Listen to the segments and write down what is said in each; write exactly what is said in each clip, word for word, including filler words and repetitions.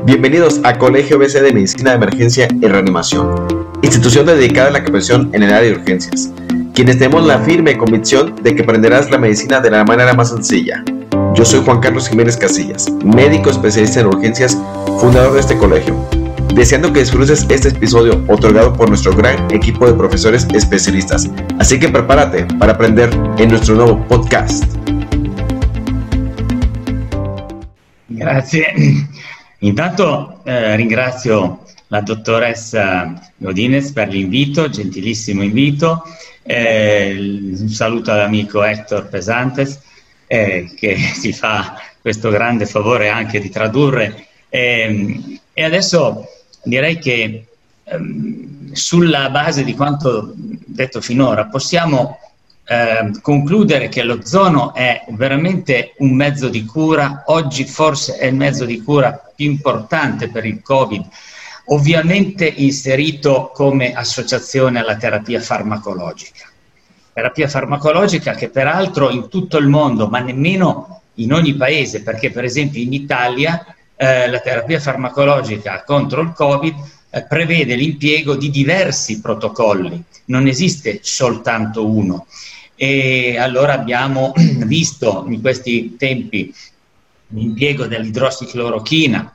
Bienvenidos a Colegio B C de Medicina de Emergencia y Reanimación, institución dedicada a la capacitación en el área de urgencias, quienes tenemos la firme convicción de que aprenderás la medicina de la manera más sencilla. Yo soy Juan Carlos Jiménez Casillas, médico especialista en urgencias, fundador de este colegio, deseando que disfrutes este episodio otorgado por nuestro gran equipo de profesores especialistas. Así que prepárate para aprender en nuestro nuevo podcast. Grazie. Intanto eh, ringrazio la dottoressa Godinez per l'invito, gentilissimo invito. Eh, un saluto all'amico Hector Pesantes eh, che si fa questo grande favore anche di tradurre. Eh, e adesso direi che ehm, sulla base di quanto detto finora possiamo Eh, concludere che l'ozono è veramente un mezzo di cura. Oggi forse è il mezzo di cura più importante per il Covid, ovviamente inserito come associazione alla terapia farmacologica. Terapia farmacologica che peraltro in tutto il mondo, ma nemmeno in ogni paese, perché per esempio in Italia eh, la terapia farmacologica contro il Covid eh, prevede l'impiego di diversi protocolli, non esiste soltanto uno. E allora abbiamo visto in questi tempi l'impiego dell'idrossiclorochina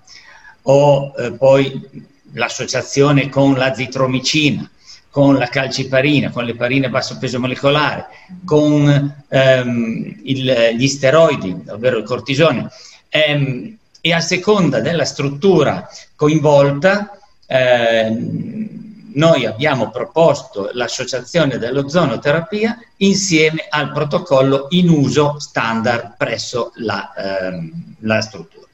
o eh, poi l'associazione con l'azitromicina, con la calciparina, con l'eparina a basso peso molecolare, con ehm, il, gli steroidi, ovvero il cortisone, ehm, e a seconda della struttura coinvolta eh, noi abbiamo proposto l'associazione dell'ozonoterapia insieme al protocollo in uso standard presso la, ehm, la struttura.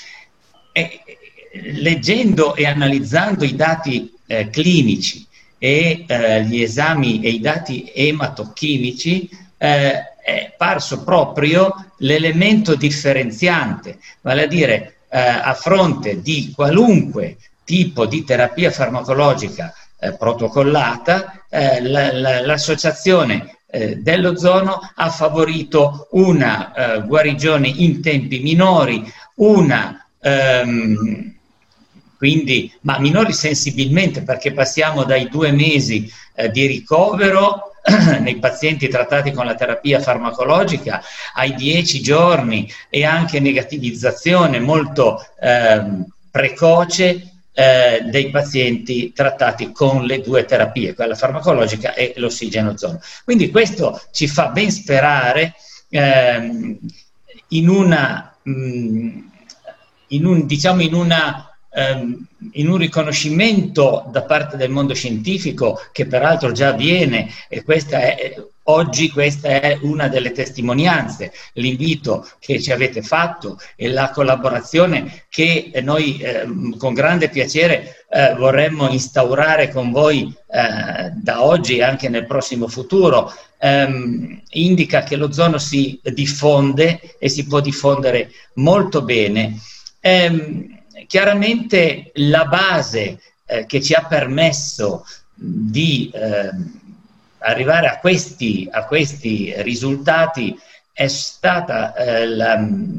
E, leggendo e analizzando i dati eh, clinici e eh, gli esami e i dati ematochimici, eh, è parso proprio l'elemento differenziante, vale a dire eh, a fronte di qualunque tipo di terapia farmacologica Eh, protocollata, eh, la, la, l'associazione eh, dell'ozono ha favorito una eh, guarigione in tempi minori, una ehm, quindi, ma minori sensibilmente, perché passiamo dai due mesi eh, di ricovero nei pazienti trattati con la terapia farmacologica ai dieci giorni e anche negativizzazione molto ehm, precoce Eh, dei pazienti trattati con le due terapie, quella farmacologica e l'ossigeno-ozono. Quindi questo ci fa ben sperare ehm, in una mh, in un diciamo in una ehm, in un riconoscimento da parte del mondo scientifico che peraltro già avviene, e questa è oggi questa è una delle testimonianze, l'invito che ci avete fatto e la collaborazione che noi eh, con grande piacere eh, vorremmo instaurare con voi eh, da oggi e anche nel prossimo futuro, ehm, indica che l'ozono si diffonde e si può diffondere molto bene. Ehm, chiaramente la base eh, che ci ha permesso di eh, arrivare a questi, a questi risultati è stata eh, la,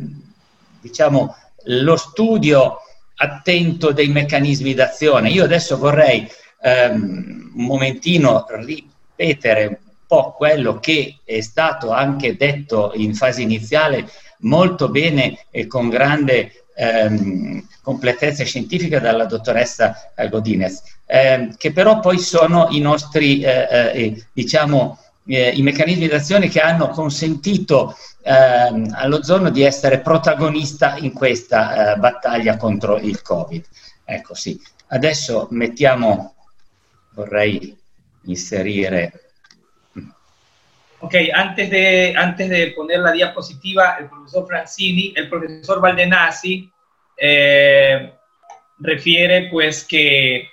diciamo, lo studio attento dei meccanismi d'azione. Io adesso vorrei ehm, un momentino ripetere un po' quello che è stato anche detto in fase iniziale molto bene e con grande ehm, completezza scientifica dalla dottoressa Godinez, eh, che però poi sono i nostri, eh, eh, diciamo, eh, i meccanismi d'azione che hanno consentito eh, all'ozono di essere protagonista in questa eh, battaglia contro il Covid. Ecco, sì. Adesso mettiamo, vorrei inserire... Ok, antes de, antes de poner la diapositiva, el profesor Francini, el profesor Valdenasi eh, refiere pues que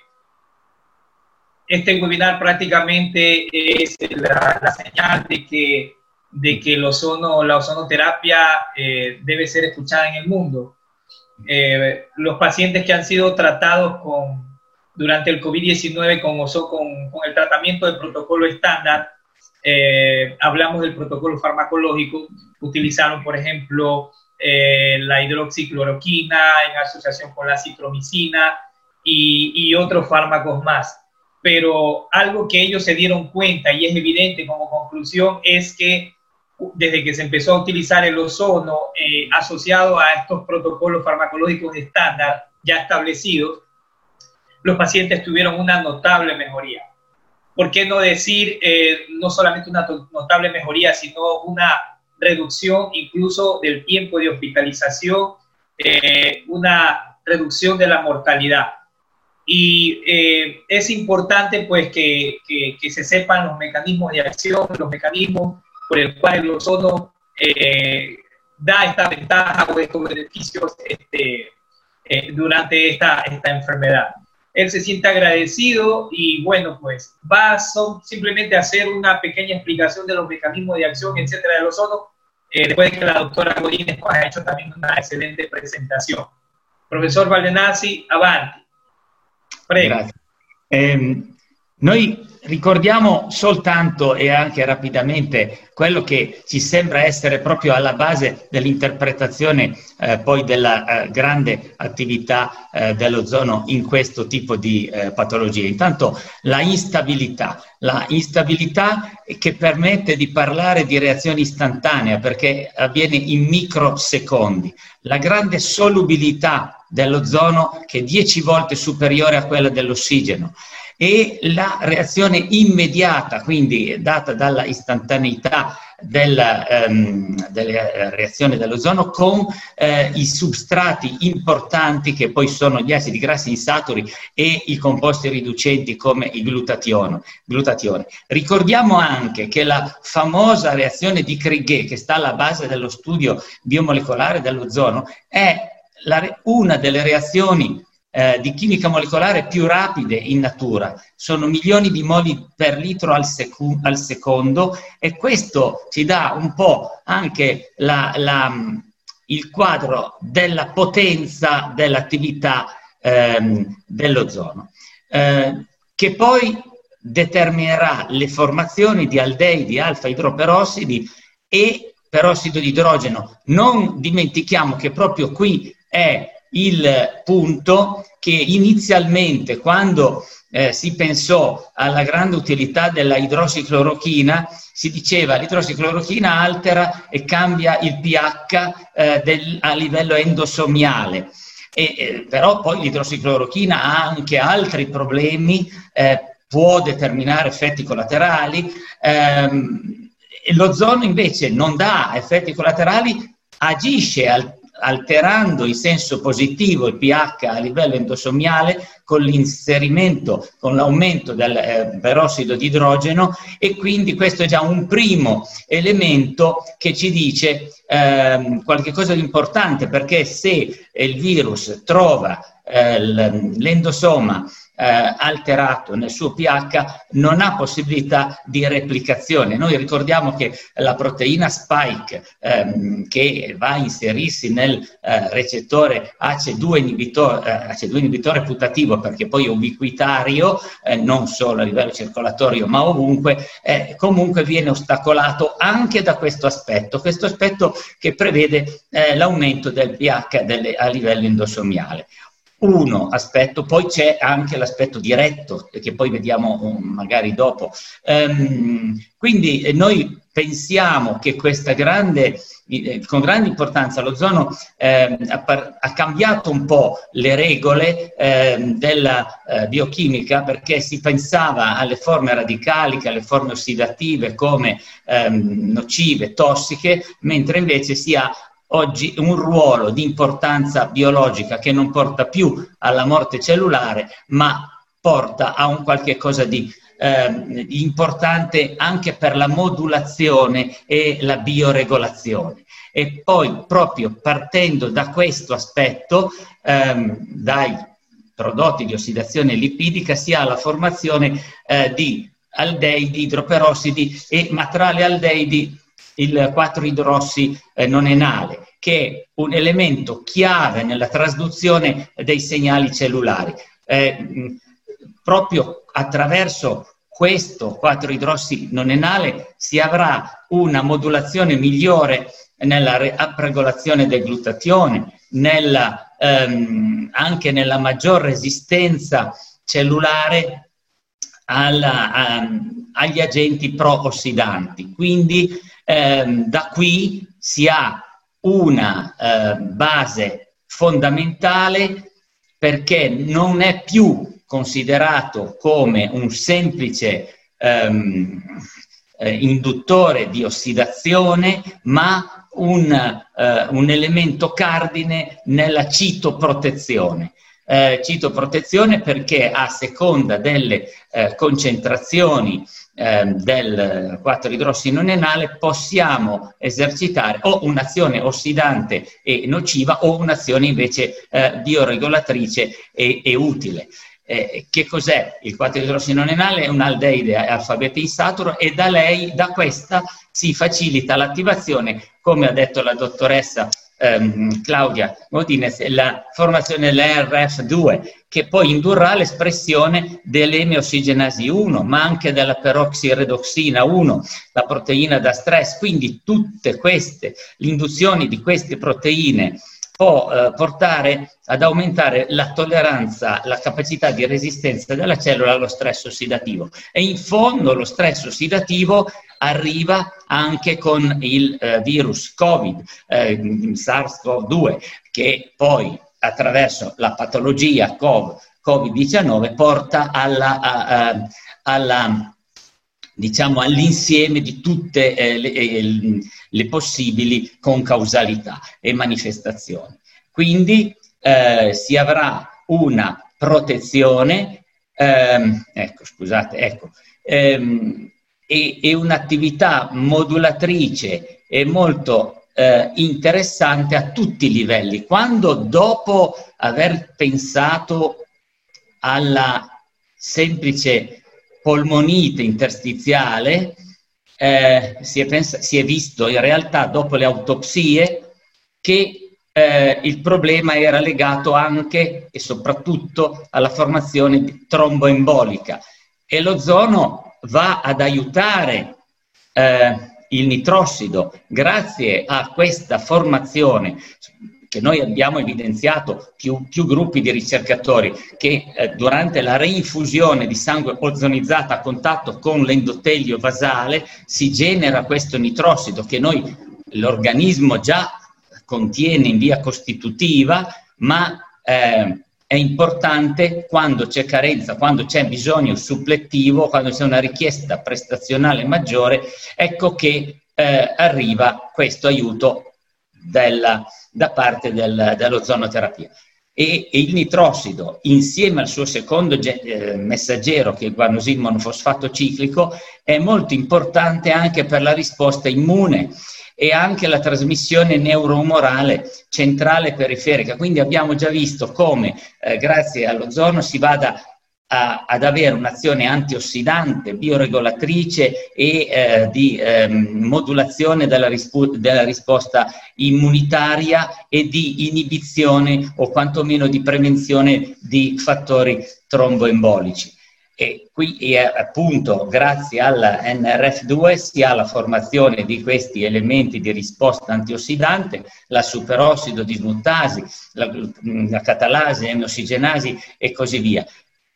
este webinar prácticamente es la, la señal de que, de que el ozono, la ozonoterapia eh, debe ser escuchada en el mundo. Eh, los pacientes que han sido tratados con, durante el COVID diecinueve con, con, con el tratamiento del protocolo estándar, eh, hablamos del protocolo farmacológico, utilizaron, por ejemplo, eh, la hidroxicloroquina en asociación con la citromicina y, y otros fármacos más. Pero algo que ellos se dieron cuenta, y es evidente como conclusión, es que desde que se empezó a utilizar el ozono eh, asociado a estos protocolos farmacológicos estándar ya establecidos, los pacientes tuvieron una notable mejoría. ¿Por qué no decir eh, no solamente una notable mejoría, sino una reducción incluso del tiempo de hospitalización, eh, una reducción de la mortalidad? Y eh, es importante pues que, que, que se sepan los mecanismos de acción, los mecanismos por el cual el ozono eh, da esta ventaja o estos beneficios este, eh, durante esta, esta enfermedad. Él se siente agradecido y bueno, pues va son simplemente a hacer una pequeña explicación de los mecanismos de acción, etcétera, del ozono, eh, después de que la doctora Godínez pues, ha hecho también una excelente presentazione. Professor Baldenazzi, avanti. Prego. Grazie. Eh, noi ricordiamo soltanto e anche rapidamente quello che ci sembra essere proprio alla base dell'interpretazione eh, poi della eh, grande attività eh, dell'ozono in questo tipo di eh, patologie. Intanto la instabilità, la instabilità che permette di parlare di reazione istantanea perché avviene in microsecondi, la grande solubilità dell'ozono che è dieci volte superiore a quella dell'ossigeno, e la reazione immediata, quindi data dalla istantaneità della, ehm, delle reazioni dell'ozono con eh, i substrati importanti che poi sono gli acidi grassi insaturi e i composti riducenti come il glutatione. glutatione. Ricordiamo anche che la famosa reazione di Crigè, che sta alla base dello studio biomolecolare dell'ozono, è la, una delle reazioni Eh, di chimica molecolare più rapide in natura, sono milioni di moli per litro al, secu- al secondo, e questo ci dà un po' anche la, la, il quadro della potenza dell'attività ehm, dell'ozono, eh, che poi determinerà le formazioni di aldeidi alfa idroperossidi e perossido di idrogeno. Non dimentichiamo che proprio qui è il punto che inizialmente, quando eh, si pensò alla grande utilità della idrossiclorochina, si diceva l'idrossiclorochina altera e cambia il pH eh, del, a livello endosomiale. E, eh, però poi l'idrossiclorochina ha anche altri problemi, eh, può determinare effetti collaterali. Ehm, l'ozono invece non dà effetti collaterali, agisce al alterando in senso positivo il pH a livello endosomiale con l'inserimento, con l'aumento del eh, perossido di idrogeno, e quindi questo è già un primo elemento che ci dice eh, qualche cosa di importante, perché se il virus trova eh, l'endosoma Eh, alterato nel suo pH, non ha possibilità di replicazione. Noi ricordiamo che la proteina spike ehm, che va a inserirsi nel eh, recettore A C E due inibitore, eh, A C E due inibitore putativo, perché poi è ubiquitario, eh, non solo a livello circolatorio ma ovunque, eh, comunque viene ostacolato anche da questo aspetto, questo aspetto che prevede eh, l'aumento del pH delle, a livello endosomiale. Uno aspetto, poi c'è anche l'aspetto diretto, che poi vediamo um, magari dopo. Um, quindi eh, noi pensiamo che questa grande, eh, con grande importanza, l'ozono eh, ha, ha cambiato un po' le regole eh, della eh, biochimica, perché si pensava alle forme radicaliche, alle forme ossidative come ehm, nocive, tossiche, mentre invece si ha oggi un ruolo di importanza biologica che non porta più alla morte cellulare, ma porta a un qualche cosa di eh, importante anche per la modulazione e la bioregolazione. E poi, proprio partendo da questo aspetto, ehm, dai prodotti di ossidazione lipidica, si ha la formazione eh, di aldeidi, idroperossidi, e ma tra le aldeidi il quattro idrossi eh, non enale, che è un elemento chiave nella trasduzione dei segnali cellulari. Eh, mh, proprio attraverso questo quattro idrossi non enale si avrà una modulazione migliore nella upregolazione del glutatione, nella, ehm, anche nella maggior resistenza cellulare alla, a, agli agenti pro-ossidanti. Quindi ehm, da qui si ha una eh, base fondamentale, perché non è più considerato come un semplice ehm, eh, induttore di ossidazione, ma un, eh, un elemento cardine nella citoprotezione. Eh, citoprotezione perché a seconda delle eh, concentrazioni eh, del quattro idrossinonenale possiamo esercitare o un'azione ossidante e nociva o un'azione invece eh, bioregolatrice e, e utile. Eh, che cos'è? Il quattro idrossinonenale è un'aldeide alfabete insaturo e da lei, da questa, si facilita l'attivazione, come ha detto la dottoressa ehm, Claudia Godinez, la formazione dell'E R F due, che poi indurrà l'espressione dell'eme ossigenasi uno, ma anche della peroxiredoxina uno, la proteina da stress. Quindi tutte queste, l'induzione di queste proteine può eh, portare ad aumentare la tolleranza, la capacità di resistenza della cellula allo stress ossidativo. E in fondo lo stress ossidativo arriva anche con il eh, virus Covid, eh, SARS-CoV due, che poi attraverso la patologia Covid diciannove porta alla, a, a, alla diciamo all'insieme di tutte eh, le, eh, le possibili concausalità e manifestazioni. Quindi eh, si avrà una protezione, ehm, ecco scusate, ecco, ehm, e, e un'attività modulatrice e molto eh, interessante a tutti i livelli. Quando dopo aver pensato alla semplice polmonite interstiziale, eh, si, è pens- si è visto in realtà dopo le autopsie che eh, il problema era legato anche e soprattutto alla formazione tromboembolica, e l'ozono va ad aiutare eh, il nitrossido grazie a questa formazione che noi abbiamo evidenziato, più, più gruppi di ricercatori, che eh, durante la reinfusione di sangue ozonizzato a contatto con l'endotelio vasale si genera questo nitrossido che noi, l'organismo già contiene in via costitutiva, ma eh, è importante quando c'è carenza, quando c'è bisogno suppletivo, quando c'è una richiesta prestazionale maggiore, ecco che eh, arriva questo aiuto della, da parte del, dell'ozonoterapia. E, e il nitrossido, insieme al suo secondo eh, messaggero, che è il guanosil monofosfato ciclico, è molto importante anche per la risposta immune e anche la trasmissione neuroumorale centrale e periferica. Quindi abbiamo già visto come eh, grazie all'ozono si vada a, ad avere un'azione antiossidante, bioregolatrice e eh, di eh, modulazione della, della risposta immunitaria e di inibizione o quantomeno di prevenzione di fattori tromboembolici. E qui è appunto grazie alla N R F due si ha la formazione di questi elementi di risposta antiossidante, la superossido dismutasi, la, la catalasi, l'ossigenasi e così via.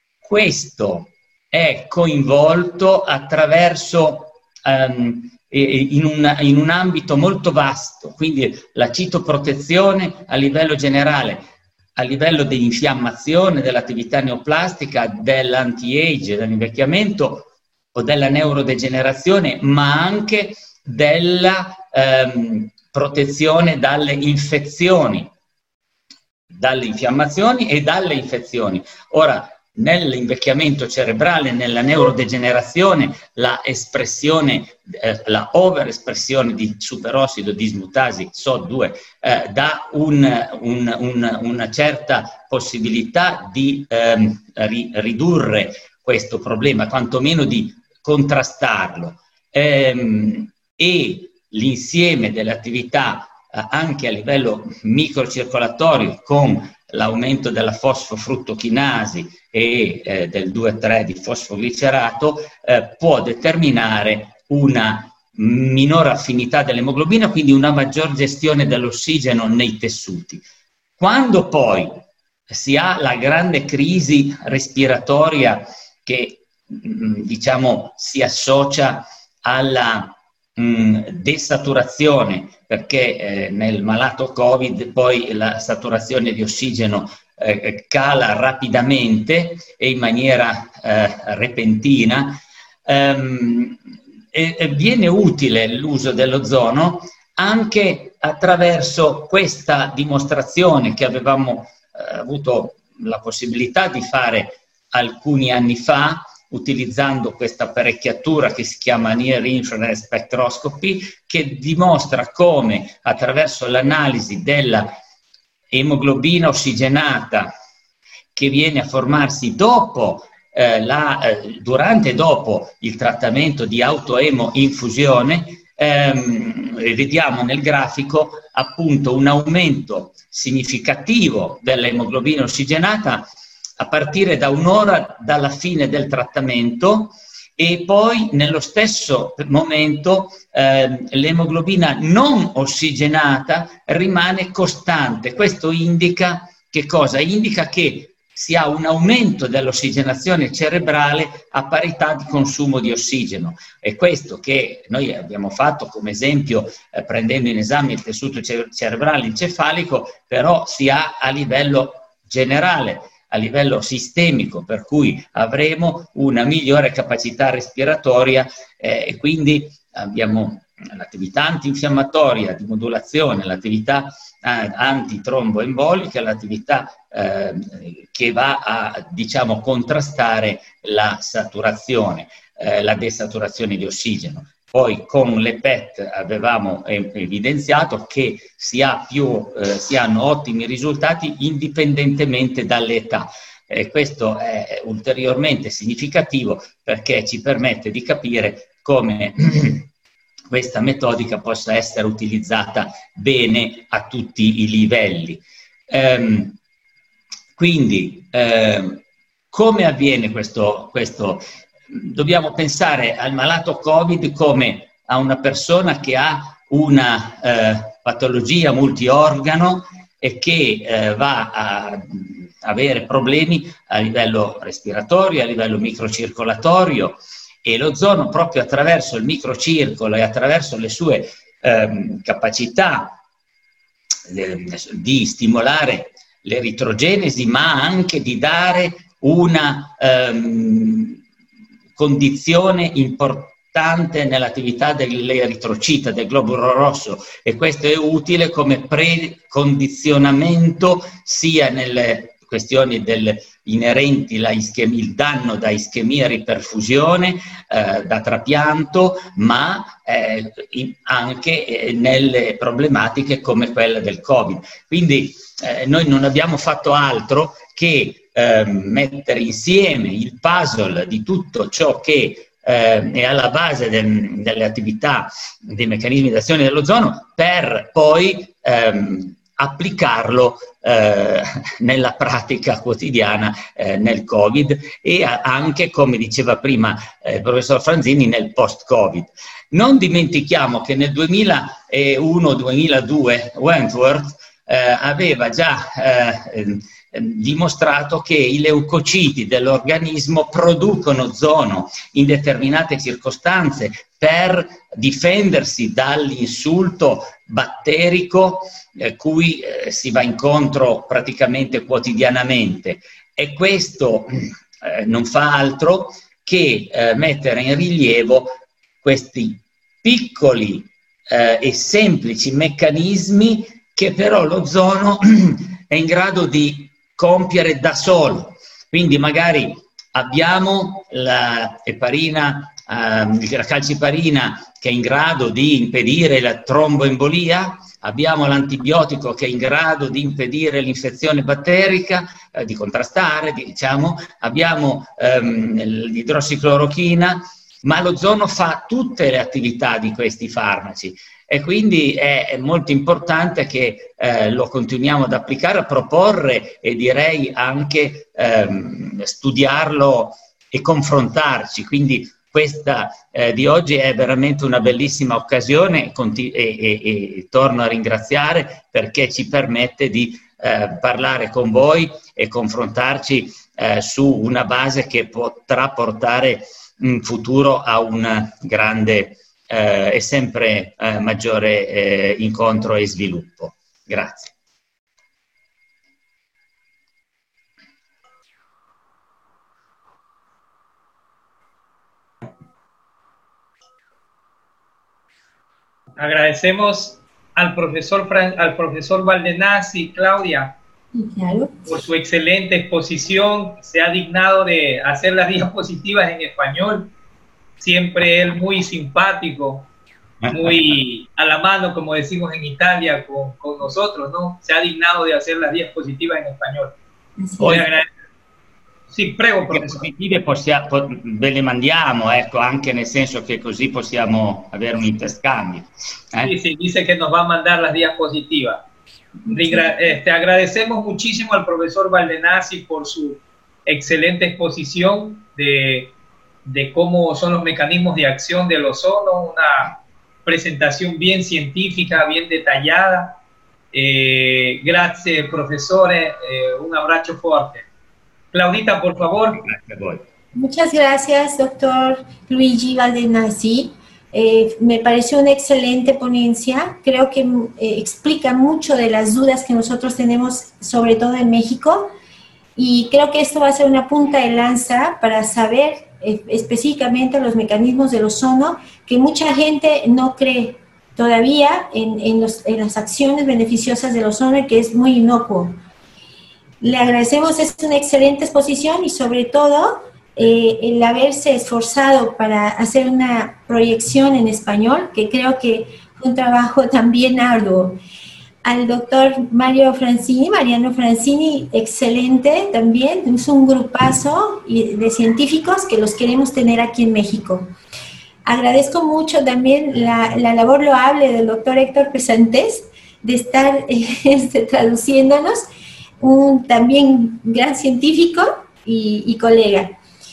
Questo è coinvolto attraverso um, in, un, in un ambito molto vasto, quindi la citoprotezione a livello generale, a livello dell'infiammazione, dell'attività neoplastica, dell'anti-age, dell'invecchiamento o della neurodegenerazione, ma anche della ehm, protezione dalle infezioni, dalle infiammazioni e dalle infezioni. Ora, nell'invecchiamento cerebrale, nella neurodegenerazione, la espressione, eh, la overespressione di superossido dismutasi S O D due eh, dà un, un, un, una certa possibilità di ehm, ri, ridurre questo problema, quantomeno di contrastarlo. Ehm, e l'insieme delle attività eh, anche a livello microcircolatorio, con l'aumento della fosfofruttochinasi e eh, del due tre di fosfoglicerato, eh, può determinare una minore affinità dell'emoglobina, quindi una maggior gestione dell'ossigeno nei tessuti. Quando poi si ha la grande crisi respiratoria che diciamo si associa alla mh, desaturazione, perché eh, nel malato Covid poi la saturazione di ossigeno eh, cala rapidamente e in maniera eh, repentina, ehm, e, e viene utile l'uso dell'ozono anche attraverso questa dimostrazione che avevamo eh, avuto la possibilità di fare alcuni anni fa, utilizzando questa apparecchiatura che si chiama Near Infrared Spectroscopy, che dimostra come attraverso l'analisi della emoglobina ossigenata che viene a formarsi dopo eh, la, eh, durante e dopo il trattamento di autoemo-infusione, ehm, vediamo nel grafico appunto un aumento significativo dell'emoglobina ossigenata a partire da un'ora dalla fine del trattamento, e poi nello stesso momento eh, l'emoglobina non ossigenata rimane costante. Questo indica che cosa? Indica che si ha un aumento dell'ossigenazione cerebrale a parità di consumo di ossigeno. È questo che noi abbiamo fatto come esempio eh, prendendo in esame il tessuto cerebrale encefalico, però si ha a livello generale, a livello sistemico, per cui avremo una migliore capacità respiratoria eh, e quindi abbiamo l'attività antinfiammatoria di modulazione, l'attività eh, antitromboembolica, l'attività eh, che va a, diciamo, contrastare la saturazione, eh, la desaturazione di ossigeno. Poi con le P E T avevamo evidenziato che si, ha più, eh, si hanno ottimi risultati indipendentemente dall'età. E questo è ulteriormente significativo perché ci permette di capire come questa metodica possa essere utilizzata bene a tutti i livelli. Ehm, quindi, eh, come avviene questo, questo? Dobbiamo pensare al malato Covid come a una persona che ha una eh, patologia multiorgano e che eh, va a avere problemi a livello respiratorio, a livello microcircolatorio, e l'ozono proprio attraverso il microcircolo e attraverso le sue eh, capacità eh, di stimolare l'eritrogenesi, ma anche di dare una ehm, condizione importante nell'attività dell'eritrocita, del globulo rosso, e questo è utile come precondizionamento sia nelle questioni del, inerenti alla ischemia, il danno da ischemia e riperfusione, eh, da trapianto, ma eh, in, anche eh, nelle problematiche come quella del Covid. Quindi eh, noi non abbiamo fatto altro che Eh, mettere insieme il puzzle di tutto ciò che eh, è alla base del, delle attività, dei meccanismi d'azione dell'ozono, per poi ehm, applicarlo eh, nella pratica quotidiana eh, nel Covid e a, anche, come diceva prima eh, il professor Franzini, nel post-Covid. Non dimentichiamo che nel duemilauno duemiladue Wentworth eh, aveva già eh, dimostrato che i leucociti dell'organismo producono ozono in determinate circostanze per difendersi dall'insulto batterico eh, cui eh, si va incontro praticamente quotidianamente, e questo eh, non fa altro che eh, mettere in rilievo questi piccoli eh, e semplici meccanismi che però l'ozono è in grado di compiere da solo. Quindi magari abbiamo la eparina, eh, la calciparina che è in grado di impedire la tromboembolia, abbiamo l'antibiotico che è in grado di impedire l'infezione batterica, eh, di contrastare, diciamo, abbiamo ehm, l'idrossiclorochina, ma l'ozono fa tutte le attività di questi farmaci. E quindi è molto importante che eh, lo continuiamo ad applicare, a proporre e direi anche ehm, studiarlo e confrontarci. Quindi questa eh, di oggi è veramente una bellissima occasione e, e, e torno a ringraziare perché ci permette di eh, parlare con voi e confrontarci eh, su una base che potrà portare in futuro a un grande eh, e sempre eh, maggiore eh, incontro e sviluppo. Grazie. Agradecemos al profesor, Fran, al profesor Baldenazzi, Claudia, claro, por su excelente exposición. Se ha dignado de hacer las diapositivas en español. Siempre él muy simpático, muy a la mano, como decimos en Italia, con, con nosotros, ¿no? Se ha dignado de hacer las diapositivas en español. Hoy agradezco. Sì, prego, professore. Le possiamo, ve le mandiamo, ecco, anche nel senso che così possiamo avere un interscambio. Eh? Sí, sí, dice que nos va a mandar las diapositivas. Este, agradecemos muchísimo al profesor Baldenazzi por su excelente exposición de, de cómo son los mecanismos de acción del ozono, una presentación bien científica, bien detallada. Eh, grazie, profesore, eh, un abrazo fuerte. Claudita, por favor. Muchas gracias, doctor Luigi Baldenazzi. Eh, me pareció una excelente ponencia. Creo que eh, explica mucho de las dudas que nosotros tenemos, sobre todo en México. Y creo que esto va a ser una punta de lanza para saber eh, específicamente los mecanismos del ozono, que mucha gente no cree todavía en, en, los, en las acciones beneficiosas del ozono y que es muy inocuo. Le agradecemos, es una excelente exposición y sobre todo eh, el haberse esforzado para hacer una proyección en español, que creo que fue un trabajo también arduo. Al doctor Mario Francini, Mariano Francini, excelente también, es un grupazo de científicos que los queremos tener aquí en México. Agradezco mucho también la, la labor loable del doctor Héctor Pesantes de estar eh, este, traduciéndonos, un también gran científico y, y colega.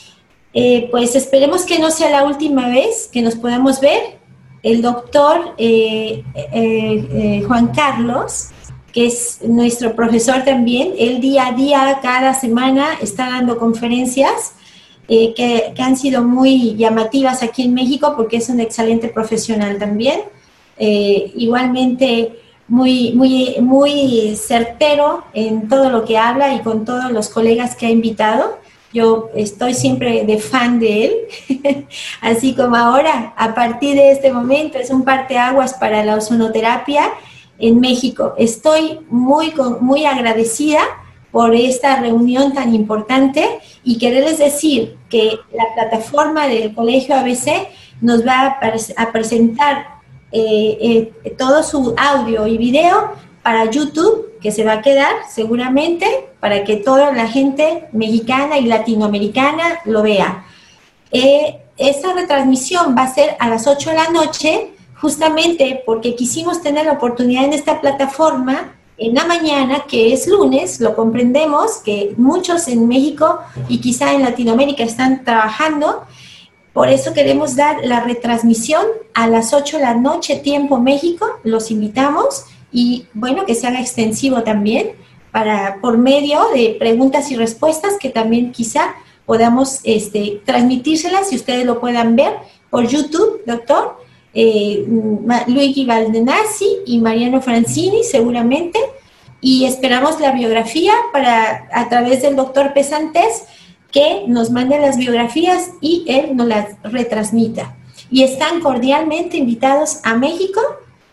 Eh, pues esperemos que no sea la última vez que nos podamos ver. El doctor eh, eh, eh, Juan Carlos, que es nuestro profesor también, él día a día, cada semana, está dando conferencias eh, que, que han sido muy llamativas aquí en México porque es un excelente profesional también. Eh, igualmente, muy, muy, muy certero en todo lo que habla y con todos los colegas que ha invitado. Yo estoy siempre de fan de él, así como ahora, a partir de este momento, es un parteaguas para la ozonoterapia en México. Estoy muy, muy agradecida por esta reunión tan importante y quererles decir que la plataforma del Colegio A B C nos va a, a presentar Eh, eh, todo su audio y video para YouTube, que se va a quedar seguramente para que toda la gente mexicana y latinoamericana lo vea. Eh, esta retransmisión va a ser a las ocho de la noche, justamente porque quisimos tener la oportunidad en esta plataforma en la mañana, que es lunes. Lo comprendemos que muchos en México y quizá en Latinoamérica están trabajando. Por eso queremos dar la retransmisión a las ocho de la noche, tiempo México. Los invitamos y, bueno, que se haga extensivo también para, por medio de preguntas y respuestas que también quizá podamos este, transmitírselas y ustedes lo puedan ver por YouTube, doctor eh, Luigi Baldenazzi y Mariano Francini seguramente. Y esperamos la biografía para, a través del doctor Pesantes, que nos mande las biografías y él nos las retransmita. Y están cordialmente invitados a México